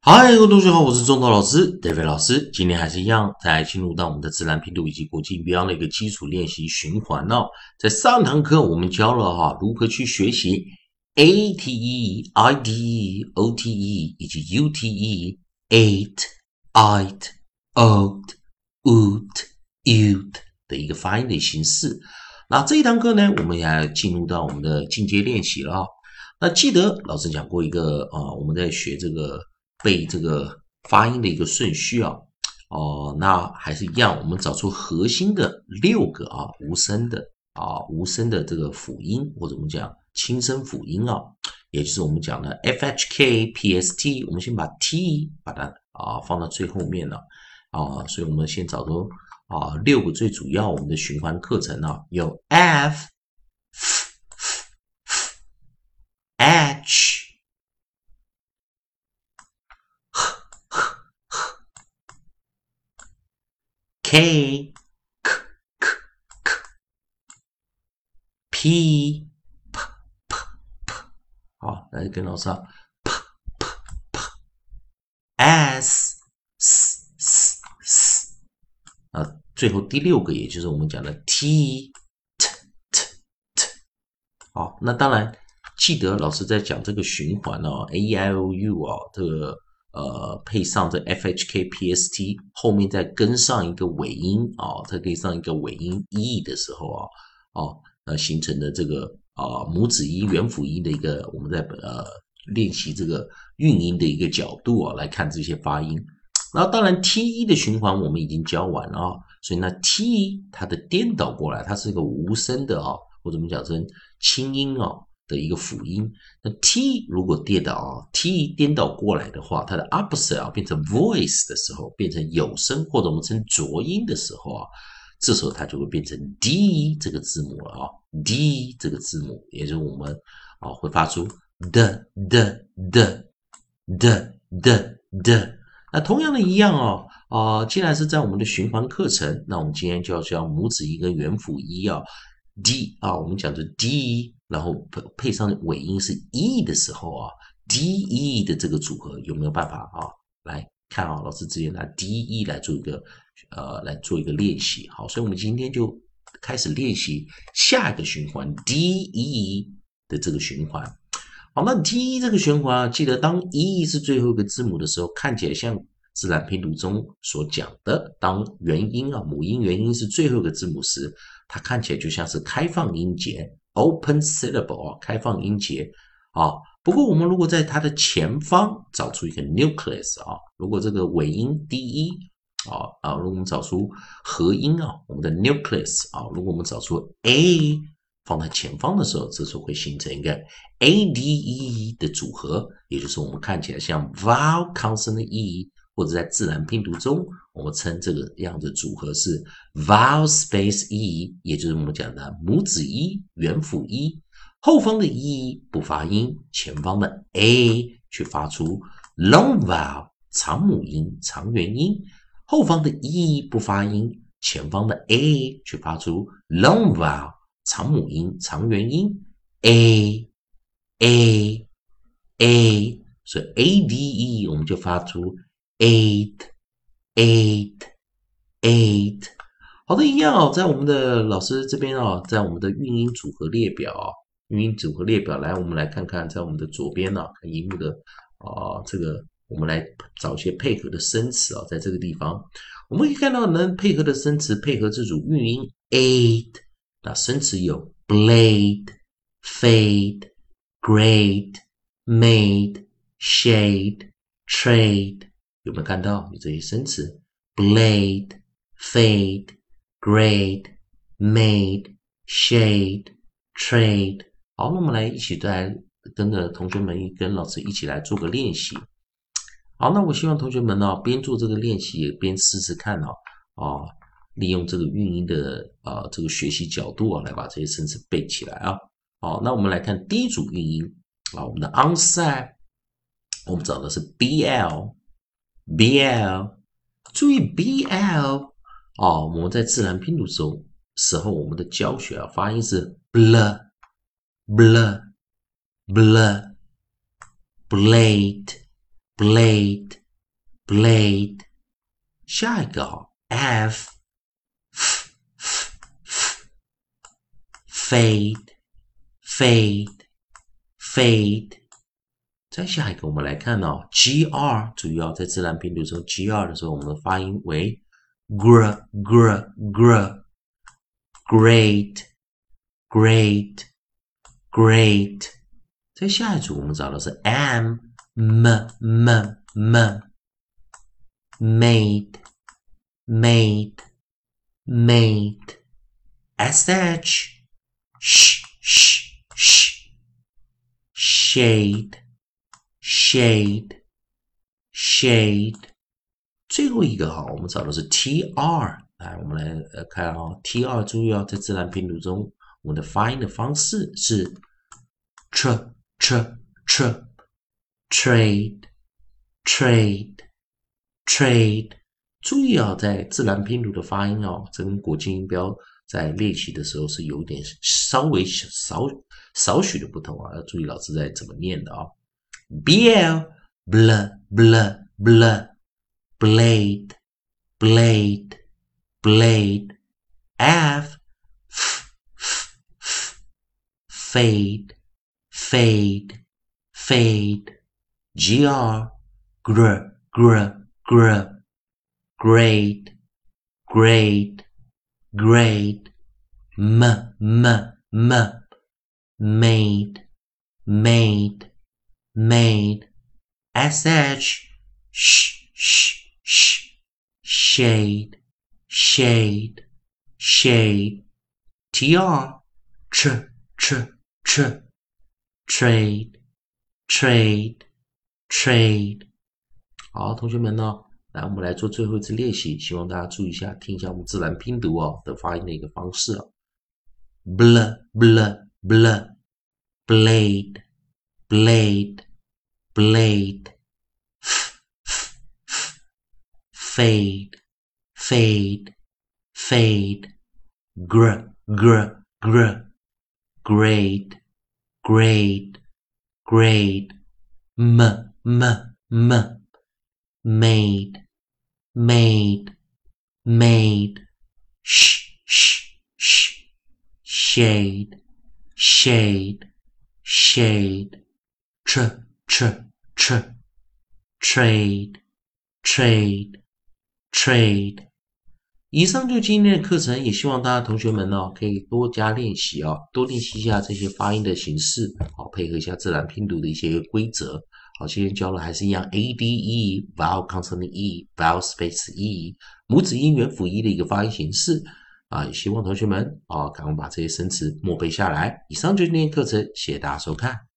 嗨，各位同学好，我是中头老师 David 老师。今天还是一样，再进入到我们的自然拼读以及国际音标的一个基础练习循环哦。在上堂课我们教了如何去学习 ate、ide、ote 以及 ute、ate、oat、oot、ute 的一个发音的形式。那这一堂课呢，我们也进入到我们的进阶练习了。那记得老师讲过一个我们在学这个背这个发音的一个顺序那还是一样，我们找出核心的6个无声的这个辅音，或者我们讲轻声辅音也就是我们讲的 FHK、PST， 我们先把 T 把它放到最后面了所以我们先找出6个最主要我们的循环课程有 F、H、K、P、好，来跟老师S、最后第6个也就是我们讲的 T。好，那当然记得老师在讲这个循环A E I O U 这个配上这 F H K P S T 后面再跟上一个尾音再跟上一个尾音 E 的时候形成的这个母子音元辅音的一个我们在练习这个韵音的一个角度来看这些发音。然后当然 T 的循环我们已经教完了所以那 T 它的颠倒过来，它是一个无声的或者我们讲成轻音的一个辅音。那 T 如果颠倒T 颠倒过来的话，它的 opposite 变成 voice 的时候，变成有声或者我们称浊音的时候这时候它就会变成 D 这个字母了D 这个字母，也就是我们会发出的。那同样的一样既然是在我们的循环课程，那我们今天就要教母子音跟元辅音D 我们讲的 D， 然后配上尾音是 E 的时候DE 的这个组合有没有办法来看老师直接拿 DE 来做一个练习。好，所以我们今天就开始练习下一个循环 DE 的这个循环。好，那 DE 这个循环记得当 E 是最后一个字母的时候，看起来像自然拼读中所讲的，当元音母音元音是最后一个字母时，它看起来就像是开放音节 open syllable 开放音节不过我们如果在它的前方找出一个 nucleus 如果这个尾音 DE 如果我们找出合音我们的 nucleus 如果我们找出 A 放在前方的时候，这时候会形成一个 ADE 的组合，也就是我们看起来像 vowel consonant E， 或者在自然拼读中，我们称这个样的组合是 vowel space E， 也就是我们讲的母子 E、元辅 E， 后方的 E 不发音，前方的 A 去发出 long vowel 长母音、长元音，后方的 E 不发音，前方的 A 去发出 long vowel长母音、长元音 A， 所以 ADE 我们就发出 eight。好的，一样在我们的老师这边在我们的韵音组合列表来，我们来看看在我们的左边看荧幕的这个我们来找一些配合的生词在这个地方我们可以看到能配合的生词配合这组韵音 eight。那生词有 blade、fade、grade、made、shade、trade， 有没有看到？有这些生词 blade、fade、grade、made、shade、trade。好，那我们来一起再跟着同学们跟老师一起来做个练习。好，那我希望同学们边做这个练习也边试试看利用这个韵音的这个学习角度来把这些生词背起来好，那我们来看第一组韵音我们的 onside， 我们找的是 BL， 注意 BL 我们在自然拼读时候我们的教学发音是 blade、blade、 blade blade。下一个f fade fade fade。再下一个我们来看gr， 注意在自然拼读中 gr 的时候，我们的发音为 gr gr gr great great great。在下一组我们找的是 m made made made sh shade shade shade。最后一个我们找的是 tr。来，我们来看tr， 注意在自然拼读中，我们的发音的方式是 tr trade trade trade。注意在自然拼读的发音这跟国际音标在练习的时候是有一点稍微少许的不同要注意老师在怎么念的bl bl bl bl blade blade blade f fade fade fade gr gr gr gr great great great m made made made sh shade shade shade tr trade trade trade。好，同学们来我们来做最后一次练习，希望大家注意一下，听一下我们自然拼读的发音的一个方式bl bl bl blade blade blade fade fade fade gr gr gr great great great m made made made shade shade shade trade trade trade。以上就今天的课程，也希望大家同学们可以多加练习多练习一下这些发音的形式，配合一下自然拼读的一些规则。好，今天教的还是一样 A D E vowel consonant E vowel space E 母子音元辅一的一个发音形式也希望同学们赶快把这些生词默背下来。以上就是今天的课程，谢谢大家收看。